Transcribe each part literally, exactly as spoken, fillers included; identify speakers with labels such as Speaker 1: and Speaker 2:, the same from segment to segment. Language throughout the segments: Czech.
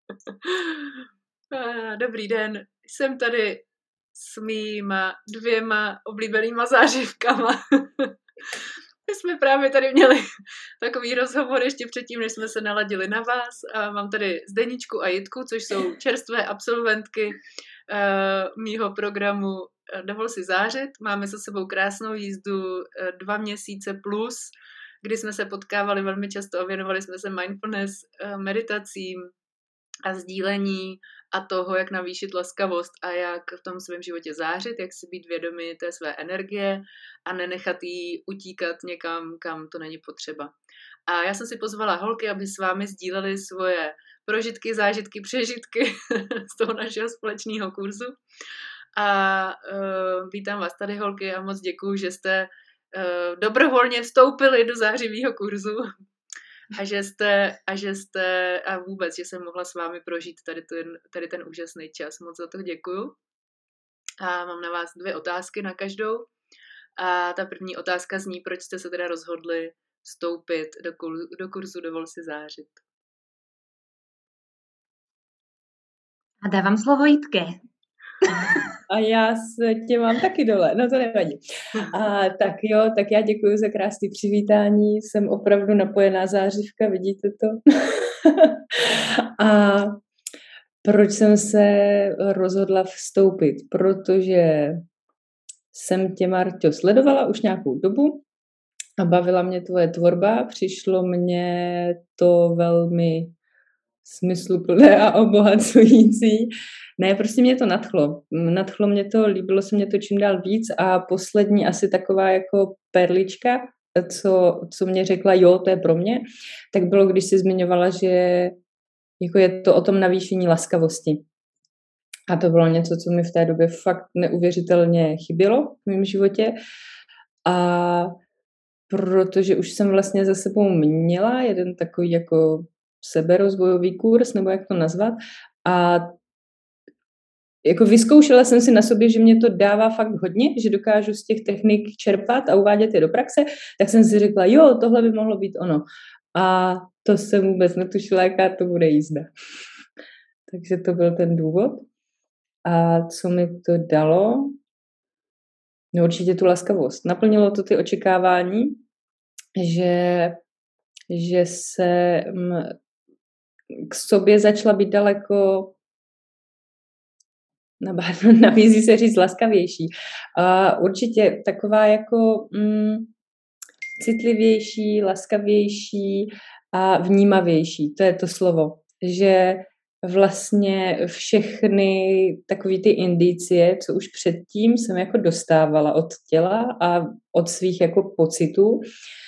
Speaker 1: Dobrý den, jsem tady s mýma dvěma oblíbenýma zářivkama. My jsme právě tady měli takový rozhovor ještě předtím, než jsme se naladili na vás. A mám tady Zdeničku a Jitku, což jsou čerstvé absolventky uh, mýho programu Dovol si zářit. Máme za sebou krásnou jízdu uh, dva měsíce plus, kdy jsme se potkávali velmi často a věnovali jsme se mindfulness, uh, meditacím a sdílení a toho, jak navýšit laskavost a jak v tom svém životě zářit, jak si být vědomí té své energie a nenechat jí utíkat někam, kam to není potřeba. A já jsem si pozvala holky, aby s vámi sdíleli svoje prožitky, zážitky, přežitky z toho našeho společného kurzu. A uh, vítám vás tady, holky, a moc děkuju, že jste uh, dobrovolně vstoupili do zářivého kurzu. A že jste, a že jste, a vůbec, že jsem mohla s vámi prožít tady ten, tady ten úžasný čas. Moc za to děkuju. A mám na vás dvě otázky na každou. A ta první otázka zní, proč jste se teda rozhodli vstoupit do, do kurzu Dovol si zářit.
Speaker 2: A dávám slovo Jitke.
Speaker 3: A já se tě mám taky dole, no to nevadí. A tak jo, tak já děkuji za krásné přivítání, jsem opravdu napojená zářivka, vidíte to? A proč jsem se rozhodla vstoupit? Protože jsem tě, Marťo, sledovala už nějakou dobu a bavila mě tvoje tvorba, přišlo mně to velmi smysluplné a obohacující. Ne, prostě mě to nadchlo. Nadchlo mě to, líbilo se mě to čím dál víc a poslední asi taková jako perlička, co, co mě řekla, jo, to je pro mě, tak bylo, když jsi zmiňovala, že jako je to o tom navýšení laskavosti. A to bylo něco, co mi v té době fakt neuvěřitelně chybělo v mém životě. A protože už jsem vlastně za sebou měla jeden takový jako seberozvojový kurz, nebo jak to nazvat, a jako vyzkoušela jsem si na sobě, že mě to dává fakt hodně, že dokážu z těch technik čerpat a uvádět je do praxe, tak jsem si řekla, jo, tohle by mohlo být ono. A to jsem vůbec netušila, jaká to bude jízda. Takže to byl ten důvod. A co mi to dalo? No určitě tu laskavost. Naplnilo to ty očekávání, že, že se k sobě začala být daleko, nabízí se říct, laskavější. A určitě taková jako mm, citlivější, laskavější a vnímavější. To je to slovo. Že vlastně všechny takové ty indicie, co už předtím jsem jako dostávala od těla a od svých jako pocitů,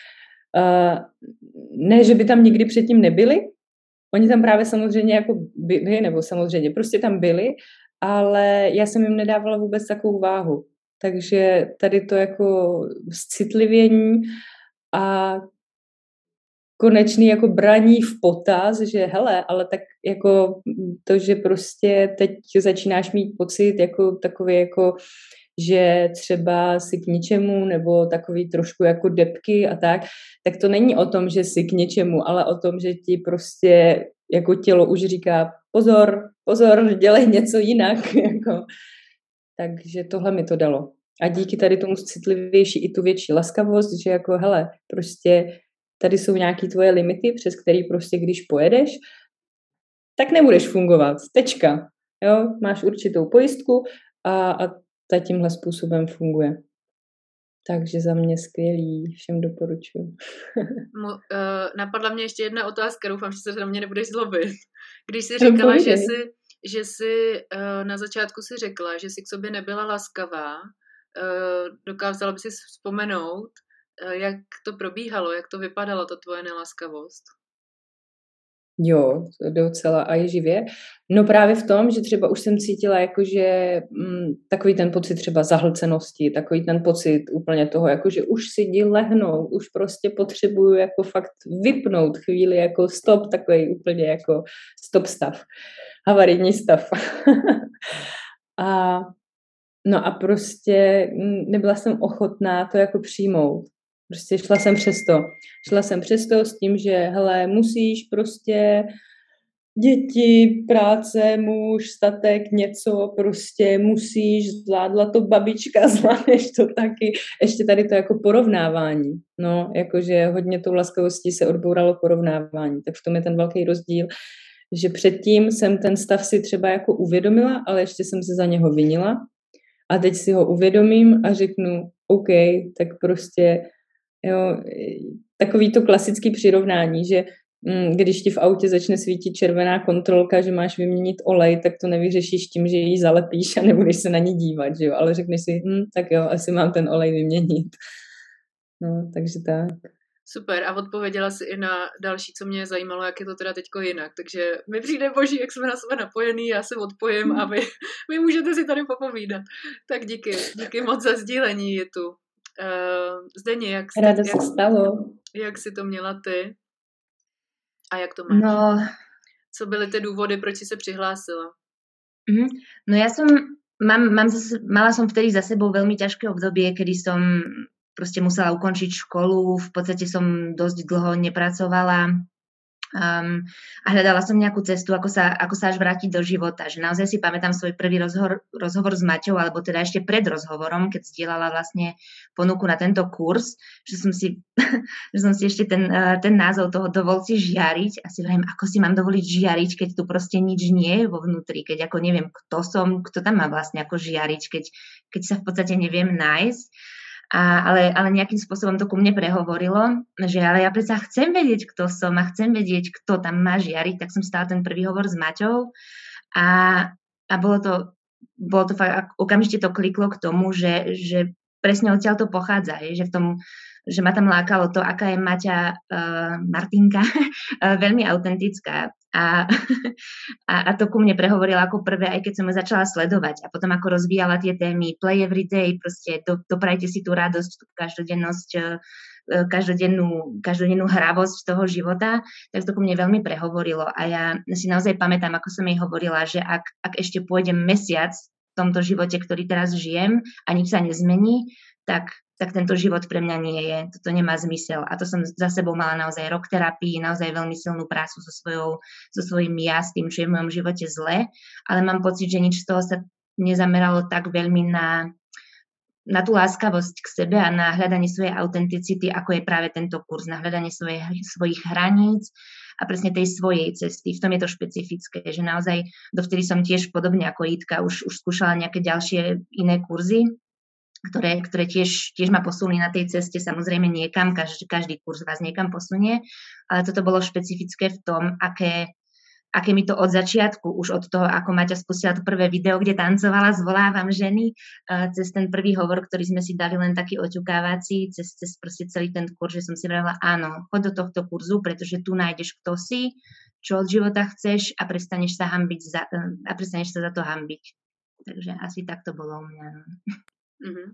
Speaker 3: ne, že by tam nikdy předtím nebyly, oni tam právě samozřejmě jako byli, nebo samozřejmě prostě tam byli, ale já jsem jim nedávala vůbec takovou váhu. Takže tady to jako citlivění a konečný jako braní v potaz, že hele, ale tak jako to, že prostě teď začínáš mít pocit jako takový jako, že třeba si k ničemu nebo takový trošku jako depky a tak, tak to není o tom, že si k něčemu, ale o tom, že ti prostě jako tělo už říká pozor, pozor, dělej něco jinak. Jako. Takže tohle mi to dalo. A díky tady tomu citlivější i tu větší laskavost, že jako hele, prostě tady jsou nějaké tvoje limity, přes který prostě když pojedeš, tak nebudeš fungovat. Tečka. Jo? Máš určitou pojistku a, a ta tímhle způsobem funguje. Takže za mě skvělý, všem doporučuji.
Speaker 1: Mo, uh, napadla mě ještě jedna otázka, doufám, že se na mě nebudeš zlobit. Když jsi říkala, no, že jsi, že jsi uh, na začátku si řekla, že jsi k sobě nebyla laskavá, uh, dokázala by si vzpomenout, uh, jak to probíhalo, jak to vypadalo, ta tvoje nelaskavost?
Speaker 3: Jo, docela a je živě. No právě v tom, že třeba už jsem cítila jakože mm, takový ten pocit třeba zahlcenosti, takový ten pocit úplně toho, jakože už si jdi lehnout, už prostě potřebuju jako fakt vypnout chvíli jako stop, takový úplně jako stop stav, havarijní stav. a no a prostě nebyla jsem ochotná to jako přijmout. Prostě šla jsem přes to. Šla jsem přes to s tím, že hele, musíš prostě děti, práce, muž, statek, něco, prostě musíš, zvládla to babička, zvládneš to taky. Ještě tady to jako porovnávání. No, jakože hodně tou laskavostí se odbouralo porovnávání. Tak v tom je ten velký rozdíl, že předtím jsem ten stav si třeba jako uvědomila, ale ještě jsem se za něho vinila. A teď si ho uvědomím a řeknu, OK, tak prostě, jo, takový to klasický přirovnání, že když ti v autě začne svítit červená kontrolka, že máš vyměnit olej, tak to nevyřešíš tím, že ji zalepíš a nebudeš se na ní dívat, že jo? Ale řekneš si, hm, tak jo, asi mám ten olej vyměnit. No, takže tak.
Speaker 1: Super, a odpověděla si i na další, co mě zajímalo, jak je to teda teďko jinak. Takže mi přijde boží, jak jsme na sebe napojený, já se odpojím a vy, vy můžete si tady popovídat. Tak díky, díky moc za sdílení je tu. Uh, Zdeni, jak, jste,
Speaker 3: Ráda
Speaker 1: jak,
Speaker 3: se stalo.
Speaker 1: Jak jsi to měla ty? A jak to máš?
Speaker 2: No,
Speaker 1: Co byly ty důvody, proč jsi se přihlásila?
Speaker 2: mm, no ja som, mám, mám zase, mala som vtedy za sebou veľmi ťažké obdobie, kedy som proste musela ukončiť školu, v podstate som dosť dlho nepracovala um, a hľadala som nejakú cestu, ako sa, ako sa až vrátiť do života. Že naozaj si pamätám svoj prvý rozhovor, rozhovor s Maťou, alebo teda ešte pred rozhovorom, keď zdieľala vlastne ponuku na tento kurz, že som si, že som si ešte ten, ten názov toho dovol si žiariť a si vrajím, ako si mám dovoliť žiariť, keď tu proste nič nie je vo vnútri, keď ako neviem, kto som, kto tam má vlastne ako žiariť, keď, keď sa v podstate neviem nájsť. A, ale, ale nejakým spôsobom to ku mne prehovorilo, že ale ja predsa chcem vedieť, kto som a chcem vedieť, kto tam má žiariť, tak som stala ten prvý hovor s Maťou a, a bolo to, bolo to fakt, okamžite to kliklo k tomu, že, že presne odtiaľ to pochádza, je, že v tom, že ma tam lákalo to, aká je Maťa uh, Martinka, uh, veľmi autentická. A, a, a to ku mne prehovorila ako prvé, aj keď som ju začala sledovať. A potom ako rozvíjala tie témy play every day, proste do, doprajte si tú radosť, tú každodennosť, každodennú, každodennú hravosť toho života, tak to ku mne veľmi prehovorilo. A ja si naozaj pamätám, ako som jej hovorila, že ak, ak ešte pôjdem mesiac v tomto živote, ktorý teraz žijem a nič sa nezmení, tak tak tento život pre mňa nie je, toto nemá zmysel. A to som za sebou mala naozaj rok terapii, naozaj veľmi silnú prácu so, svojou, so svojím ja, s tým, čo je v mojom živote zle, ale mám pocit, že nič z toho sa nezameralo tak veľmi na, na tú láskavosť k sebe a na hľadanie svojej autenticity, ako je práve tento kurz, na hľadanie svoje, svojich hraníc a presne tej svojej cesty. V tom je to špecifické, že naozaj dovtedy som tiež podobne ako Jitka už, už skúšala nejaké ďalšie iné kurzy, ktoré, ktoré tiež, tiež ma posunuli na tej ceste, samozrejme niekam, každý, každý kurz vás niekam posunie, ale toto bolo špecifické v tom, aké, aké mi to od začiatku, už od toho, ako Maťa spustila to prvé video, kde tancovala Zvolávam ženy, cez ten prvý hovor, ktorý sme si dali len taký oťukávací, cez, cez proste celý ten kurz, že som si vravila, áno, choď do tohto kurzu, pretože tu nájdeš, kto si, čo od života chceš a prestaneš sa hambiť za, a prestaneš sa za to hambiť. Takže asi tak to bolo u mňa.
Speaker 1: Mm-hmm.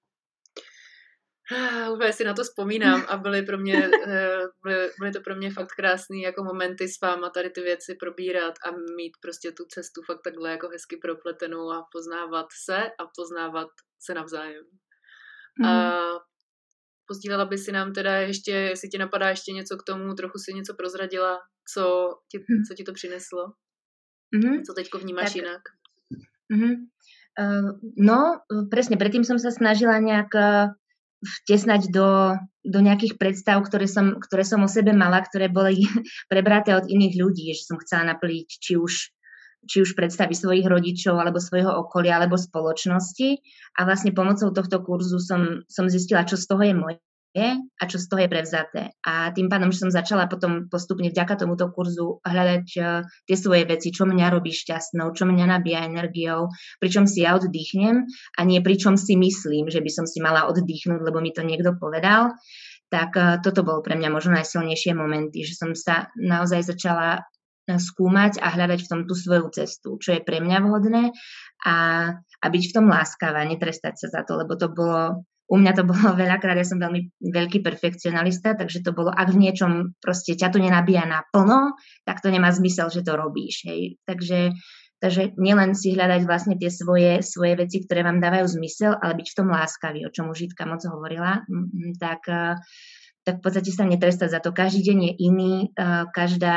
Speaker 1: Úplně si na to vzpomínám a byly, pro mě, byly, byly to pro mě fakt krásný jako momenty s váma tady ty věci probírat a mít prostě tu cestu fakt takhle jako hezky propletenou a poznávat se a poznávat se navzájem. Mm. A pozdílela by si nám teda ještě, jestli ti napadá ještě něco k tomu, trochu si něco prozradila, co ti, co ti to přineslo? Mm. Co teďko vnímáš tak jinak?
Speaker 2: Mm. Uh, no, presne, predtým som sa snažila nejak uh, vtesnať do, do nejakých predstav, ktoré som, ktoré som o sebe mala, ktoré boli prebraté od iných ľudí, že som chcela naplniť či už, či už predstavy svojich rodičov, alebo svojho okolia, alebo spoločnosti. A vlastne pomocou tohto kurzu som, som zistila, čo z toho je moje a čo z toho je prevzaté. A tým pádom, že som začala potom postupne vďaka tomuto kurzu hľadať uh, tie svoje veci, čo mňa robí šťastnou, čo mňa nabíja energiou, pričom si ja oddychnem a nie pričom si myslím, že by som si mala oddychnúť, lebo mi to niekto povedal, tak uh, toto bolo pre mňa možno najsilnejšie momenty, že som sa naozaj začala skúmať a hľadať v tom tú svoju cestu, čo je pre mňa vhodné a, a byť v tom láskavá, netrestať sa za to, lebo to bolo U mňa to bolo veľakrát, ja som veľmi veľký perfekcionalista, takže to bolo, ak v niečom proste ťa to nenabíja naplno, tak to nemá zmysel, že to robíš. Hej. Takže, takže nielen si hľadať vlastne tie svoje, svoje veci, ktoré vám dávajú zmysel, ale byť v tom láskavý, o čom už Žitka moc hovorila, tak, tak v podstate sa netrestať za to. Každý deň je iný, každá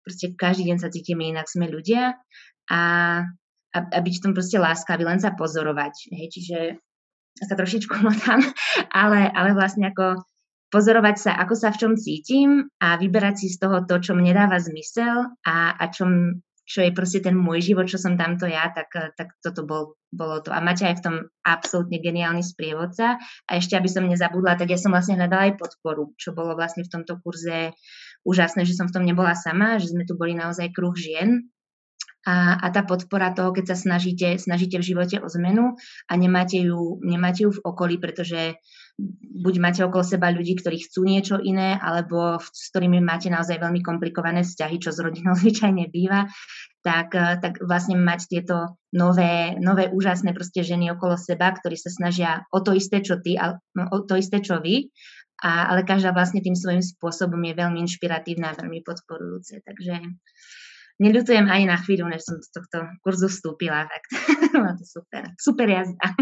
Speaker 2: proste každý deň sa cítime inak, sme ľudia a, a, a byť v tom proste láskavý, len sa pozorovať. Hej, čiže sa trošičku motám, ale, ale vlastne ako pozorovať sa, ako sa v čom cítim a vyberať si z toho to, čo mne dáva zmysel a, a čom, čo je proste ten môj život, čo som tamto ja, tak, tak toto bol, bolo to. A máte aj v tom absolútne geniálny sprievodca. A ešte, aby som nezabudla, tak ja som vlastne hľadala aj podporu, čo bolo vlastne v tomto kurze úžasné, že som v tom nebola sama, že sme tu boli naozaj kruh žien. A, a tá podpora toho, keď sa snažíte, snažíte v živote o zmenu a nemáte ju, nemáte ju v okolí, pretože buď máte okolo seba ľudí, ktorí chcú niečo iné, alebo s ktorými máte naozaj veľmi komplikované vzťahy, čo s rodinou zvyčajne býva, tak, tak vlastne mať tieto nové, nové úžasné proste ženy okolo seba, ktorí sa snažia o to isté, čo ty, o to isté, čo vy, a, ale každá vlastne tým svojím spôsobom je veľmi inšpiratívna a veľmi podporujúce. Takže neľutujem ani na chvíľu, než som do tohto kurzu vstúpila. Fakt. Bylo to super. Super jazda.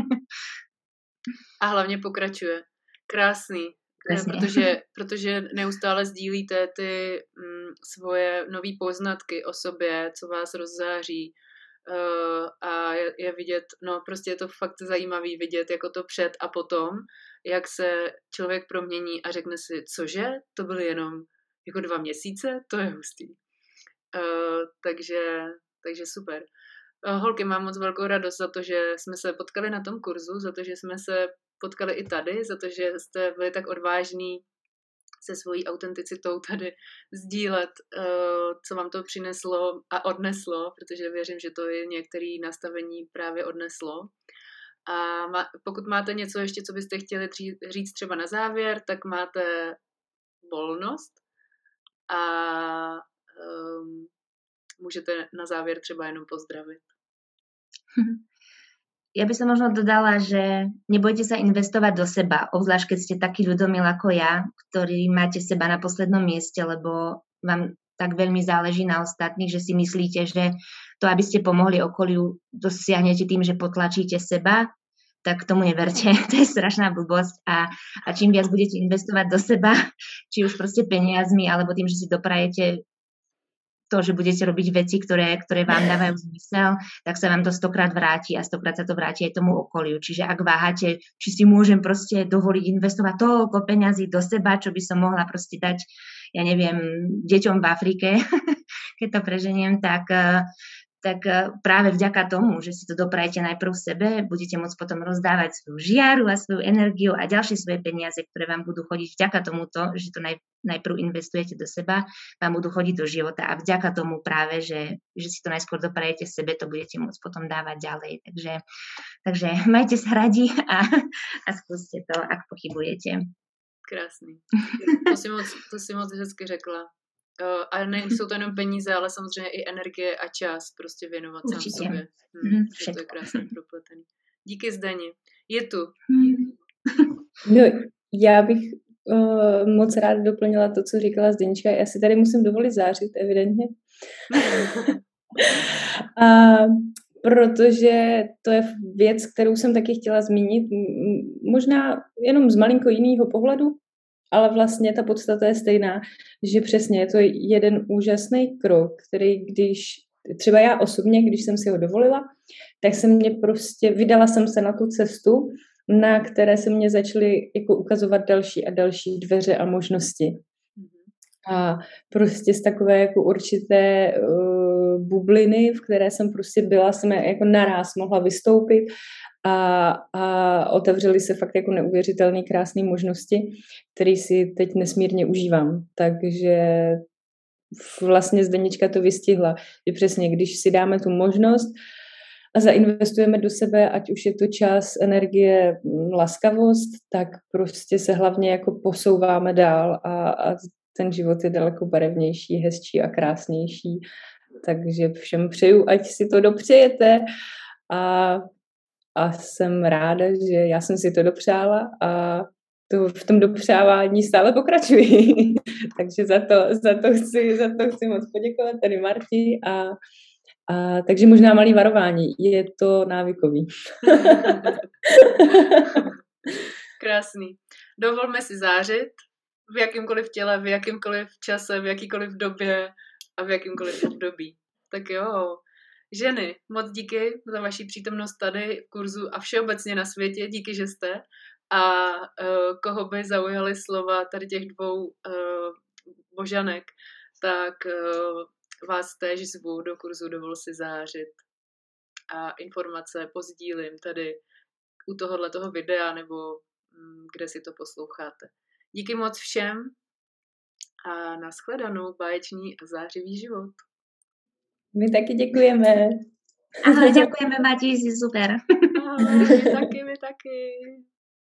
Speaker 1: A hlavně pokračuje. Krásný. Protože, protože neustále sdílíte ty mm, svoje nový poznatky o sobě, co vás rozzáří. Uh, a je, je vidět, no prostě je to fakt zajímavý vidět, jako to před a potom, jak se člověk promění a řekne si, cože, to byly jenom jako dva měsíce, to je hustý. Uh, takže, takže super. Uh, holky, mám moc velkou radost za to, že jsme se potkali na tom kurzu, za to, že jsme se potkali i tady, za to, že jste byli tak odvážní se svojí autenticitou tady sdílet, uh, co vám to přineslo a odneslo, protože věřím, že to je některé nastavení právě odneslo. A má, pokud máte něco ještě, co byste chtěli říct třeba na závěr, tak máte volnost a um, můžete na závěr třeba jenom pozdravit.
Speaker 2: Ja by som možno dodala, že nebojte sa investovať do seba, obzvlášť keď ste taký ľudomil ako ja, ktorý máte seba na poslednom mieste, lebo vám tak veľmi záleží na ostatných, že si myslíte, že to, aby ste pomohli okoliu, dosiahnete tým, že potlačíte seba, tak tomu neverte. To je strašná blbosť a, a čím viac budete investovať do seba, či už proste peniazmi, alebo tým, že si doprajete to, že budete robiť veci, ktoré, ktoré vám dávajú zmysel, tak sa vám to stokrát vráti a stokrát sa to vráti aj tomu okoliu. Čiže ak váhate, či si môžem proste dovoliť investovať toľko peňazí do seba, čo by som mohla proste dať, ja neviem, deťom v Afrike, keď to preženiem, tak, tak práve vďaka tomu, že si to doprajete najprv sebe, budete môcť potom rozdávať svoju žiaru a svoju energiu a ďalšie svoje peniaze, ktoré vám budú chodiť vďaka tomuto, že to naj, najprv investujete do seba, vám budú chodiť do života a vďaka tomu práve, že, že si to najskôr doprajete sebe, to budete môcť potom dávať ďalej. Takže, takže majte sa radi a, a skúste to, ak pochybujete.
Speaker 1: Krásný. To si moc, to si moc hezky řekla. Uh, a nejsou to jenom peníze, ale samozřejmě i energie a čas prostě věnovat sám
Speaker 2: Určitě.
Speaker 1: sobě. Hmm,
Speaker 2: Mm,
Speaker 1: to je krásně propletený. Díky, Zdeni. Je tu.
Speaker 3: No, já bych uh, moc ráda doplnila to, co říkala Zdenička. Já si tady musím dovolit zářit, evidentně. a protože to je věc, kterou jsem taky chtěla zmínit, možná jenom z malinko jiného pohledu, ale vlastně ta podstata je stejná, že přesně je to jeden úžasný krok, který když, třeba já osobně, když jsem si ho dovolila, tak jsem mě prostě, vydala jsem se na tu cestu, na které se mě začaly jako ukazovat další a další dveře a možnosti. A prostě z takové jako určité uh, bubliny, v které jsem prostě byla, jsem jako naráz mohla vystoupit a, a otevřely se fakt jako neuvěřitelné krásné možnosti, které si teď nesmírně užívám. Takže vlastně Zdenička to vystihla, že přesně, když si dáme tu možnost a zainvestujeme do sebe, ať už je to čas, energie, laskavost, tak prostě se hlavně jako posouváme dál a, a ten život je daleko barevnější, hezčí a krásnější. Takže všem přeju, ať si to dopřejete a, a jsem ráda, že já jsem si to dopřála a to v tom dopřávání stále pokračuji. Takže za to, za, to chci, za to chci moc poděkovat tady Marti a, a takže možná malý varování. Je to návykový.
Speaker 1: Krásný. Dovolme si zářit v jakýmkoliv těle, v jakýmkoliv čase, v jakýkoliv době a v jakýmkoliv období. Tak jo, ženy, moc díky za vaši přítomnost tady v kurzu a všeobecně na světě, díky, že jste. A uh, koho by zaujaly slova tady těch dvou uh, božanek, tak uh, vás též zvu do kurzu Dovol si zářit. A informace pozdílím tady u tohohletoho videa nebo um, kde si to posloucháte. Díky moc všem a nashledanou, báječný a zářivý život.
Speaker 3: My taky děkujeme.
Speaker 2: Ahoj, děkujeme, Mati, jsi super.
Speaker 1: Ahoj, my taky, my taky.